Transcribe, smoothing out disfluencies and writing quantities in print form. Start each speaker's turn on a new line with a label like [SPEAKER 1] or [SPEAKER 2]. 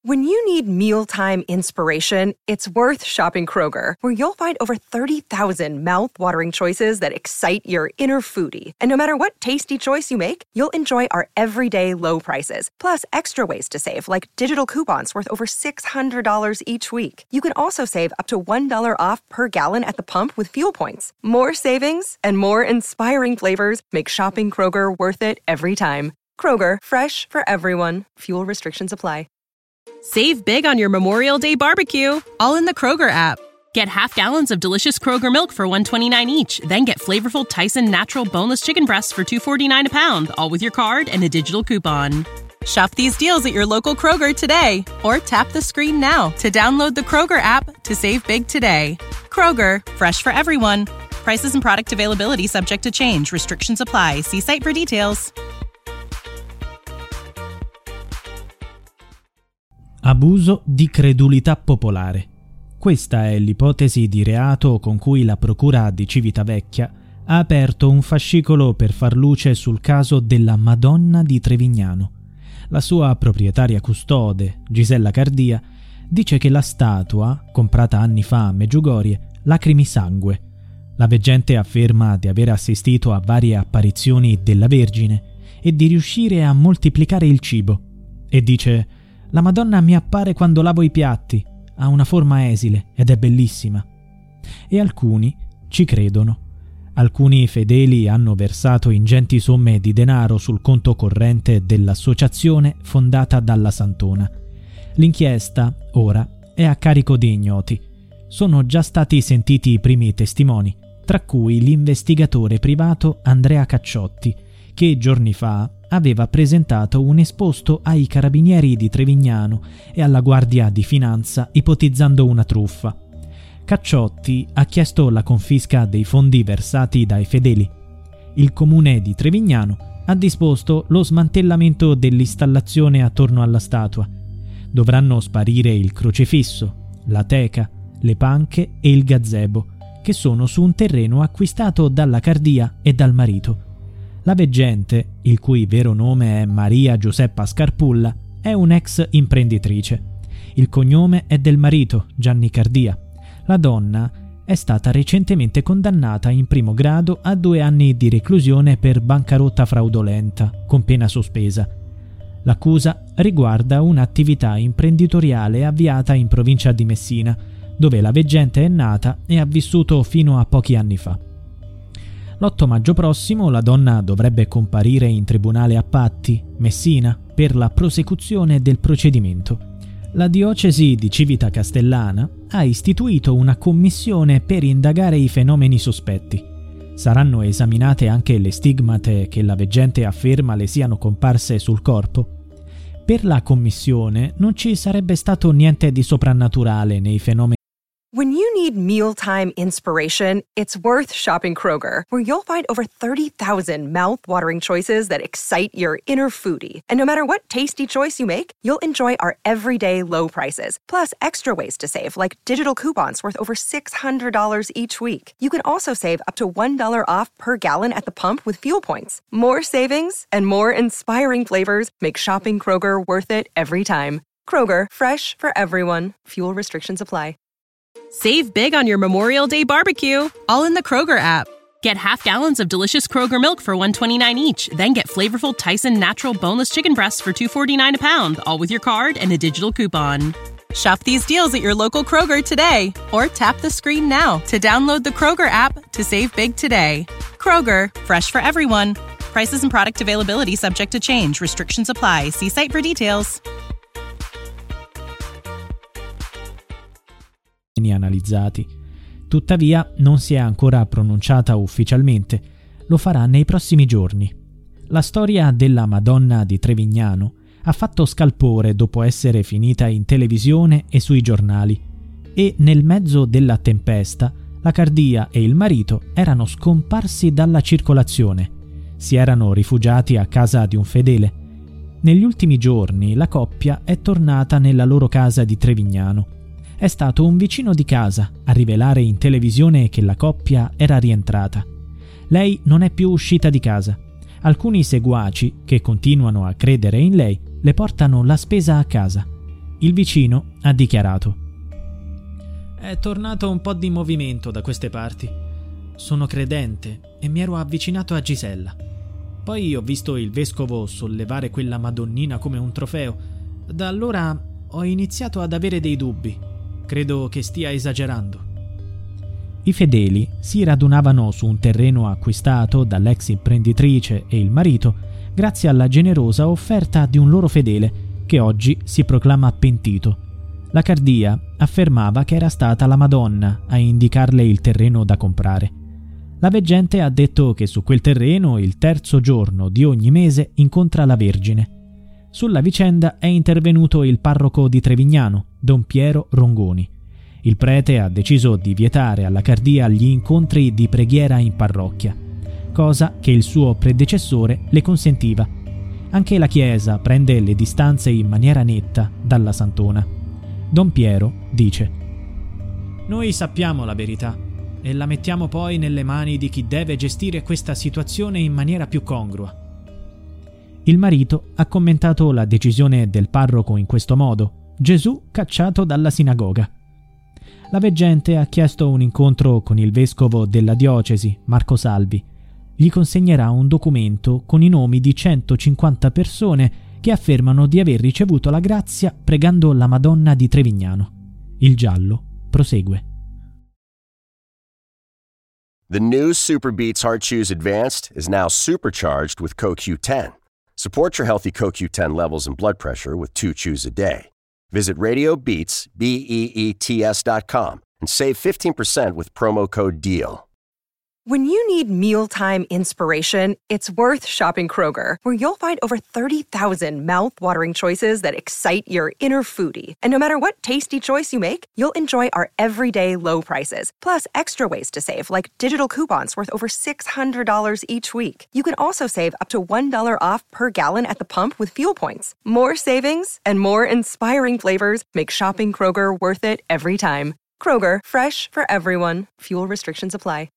[SPEAKER 1] When you need mealtime inspiration, it's worth shopping Kroger, where you'll find over 30,000 mouth-watering choices that excite your inner foodie. And no matter what tasty choice you make, you'll enjoy our everyday low prices, plus extra ways to save, like digital coupons worth over $600 each week. You can also save up to $1 off per gallon at the pump with fuel points. More savings and more inspiring flavors make shopping Kroger worth it every time. Kroger, fresh for everyone. Fuel restrictions apply.
[SPEAKER 2] Save big on your Memorial Day barbecue, all in the Kroger app. Get half gallons of delicious Kroger milk for $1.29 each. Then get flavorful Tyson natural boneless chicken breasts for $2.49 a pound, all with your card and a digital coupon. Shop these deals at your local Kroger today, or tap the screen now to download the Kroger app to save big today. Kroger, fresh for everyone. Prices and product availability subject to change. Restrictions apply. See site for details.
[SPEAKER 3] Abuso di credulità popolare. Questa è l'ipotesi di reato con cui la Procura di Civitavecchia ha aperto un fascicolo per far luce sul caso della Madonna di Trevignano. La sua proprietaria custode, Gisella Cardia, dice che la statua, comprata anni fa a Meggiugorie, lacrimi sangue. La veggente afferma di aver assistito a varie apparizioni della Vergine e di riuscire a moltiplicare il cibo. E dice: «La Madonna mi appare quando lavo i piatti, ha una forma esile ed è bellissima». E alcuni ci credono. Alcuni fedeli hanno versato ingenti somme di denaro sul conto corrente dell'associazione fondata dalla Santona. L'inchiesta, ora, è a carico di ignoti. Sono già stati sentiti i primi testimoni, tra cui l'investigatore privato Andrea Cacciotti, che giorni fa aveva presentato un esposto ai carabinieri di Trevignano e alla Guardia di Finanza ipotizzando una truffa. Cacciotti ha chiesto la confisca dei fondi versati dai fedeli. Il comune di Trevignano ha disposto lo smantellamento dell'installazione attorno alla statua. Dovranno sparire il crocifisso, la teca, le panche e il gazebo, che sono su un terreno acquistato dalla Cardia e dal marito. La veggente, il cui vero nome è Maria Giuseppa Scarpulla, è un'ex imprenditrice. Il cognome è del marito, Gianni Cardia. La donna è stata recentemente condannata in primo grado a 2 anni di reclusione per bancarotta fraudolenta, con pena sospesa. L'accusa riguarda un'attività imprenditoriale avviata in provincia di Messina, dove la veggente è nata e ha vissuto fino a pochi anni fa. L'8 maggio prossimo la donna dovrebbe comparire in tribunale a Patti, Messina, per la prosecuzione del procedimento. La diocesi di Civita Castellana ha istituito una commissione per indagare i fenomeni sospetti. Saranno esaminate anche le stigmate che la veggente afferma le siano comparse sul corpo. Per la commissione non ci sarebbe stato niente di soprannaturale nei fenomeni.
[SPEAKER 1] When you need mealtime inspiration, it's worth shopping Kroger, where you'll find over 30,000 mouth-watering choices that excite your inner foodie. And no matter what tasty choice you make, you'll enjoy our everyday low prices, plus extra ways to save, like digital coupons worth over $600 each week. You can also save up to $1 off per gallon at the pump with fuel points. More savings and more inspiring flavors make shopping Kroger worth it every time. Kroger, fresh for everyone. Fuel restrictions apply.
[SPEAKER 2] Save big on your Memorial Day barbecue, all in the Kroger app. Get half gallons of delicious Kroger milk for $1.29 each. Then get flavorful Tyson natural boneless chicken breasts for $2.49 a pound, all with your card and a digital coupon. Shop these deals at your local Kroger today, or tap the screen now to download the Kroger app to save big today. Kroger, fresh for everyone. Prices and product availability subject to change. Restrictions apply. See site for details.
[SPEAKER 3] Analizzati. Tuttavia non si è ancora pronunciata ufficialmente, lo farà nei prossimi giorni. La storia della Madonna di Trevignano ha fatto scalpore dopo essere finita in televisione e sui giornali, e nel mezzo della tempesta la Cardia e il marito erano scomparsi dalla circolazione. Si erano rifugiati a casa di un fedele. Negli ultimi giorni la coppia è tornata nella loro casa di Trevignano. È stato un vicino di casa a rivelare in televisione che la coppia era rientrata. Lei non è più uscita di casa. Alcuni seguaci, che continuano a credere in lei, le portano la spesa a casa. Il vicino ha dichiarato: «È tornato un po' di movimento da queste parti. Sono credente e mi ero avvicinato a Gisella. Poi ho visto il vescovo sollevare quella Madonnina come un trofeo. Da allora ho iniziato ad avere dei dubbi. Credo che stia esagerando». I fedeli si radunavano su un terreno acquistato dall'ex imprenditrice e il marito grazie alla generosa offerta di un loro fedele che oggi si proclama pentito. La Cardia affermava che era stata la Madonna a indicarle il terreno da comprare. La veggente ha detto che su quel terreno il terzo giorno di ogni mese incontra la Vergine. Sulla vicenda è intervenuto il parroco di Trevignano, Don Piero Rongoni. Il prete ha deciso di vietare alla Cardia gli incontri di preghiera in parrocchia, cosa che il suo predecessore le consentiva. Anche la Chiesa prende le distanze in maniera netta dalla santona. Don Piero dice: «Noi sappiamo la verità e la mettiamo poi nelle mani di chi deve gestire questa situazione in maniera più congrua». Il marito ha commentato la decisione del parroco in questo modo: «Gesù cacciato dalla sinagoga». La veggente ha chiesto un incontro con il vescovo della diocesi, Marco Salvi. Gli consegnerà un documento con i nomi di 150 persone che affermano di aver ricevuto la grazia pregando la Madonna di Trevignano. Il giallo prosegue.
[SPEAKER 4] The new Super Beats Heart Chews Advanced is now supercharged with CoQ10. Support your healthy CoQ10 levels and blood pressure with 2 chews a day. Visit RadioBeats, BEETS.com and save 15% with promo code DEAL.
[SPEAKER 1] When you need mealtime inspiration, it's worth shopping Kroger, where you'll find over 30,000 mouth-watering choices that excite your inner foodie. And no matter what tasty choice you make, you'll enjoy our everyday low prices, plus extra ways to save, like digital coupons worth over $600 each week. You can also save up to $1 off per gallon at the pump with fuel points. More savings and more inspiring flavors make shopping Kroger worth it every time. Kroger, fresh for everyone. Fuel restrictions apply.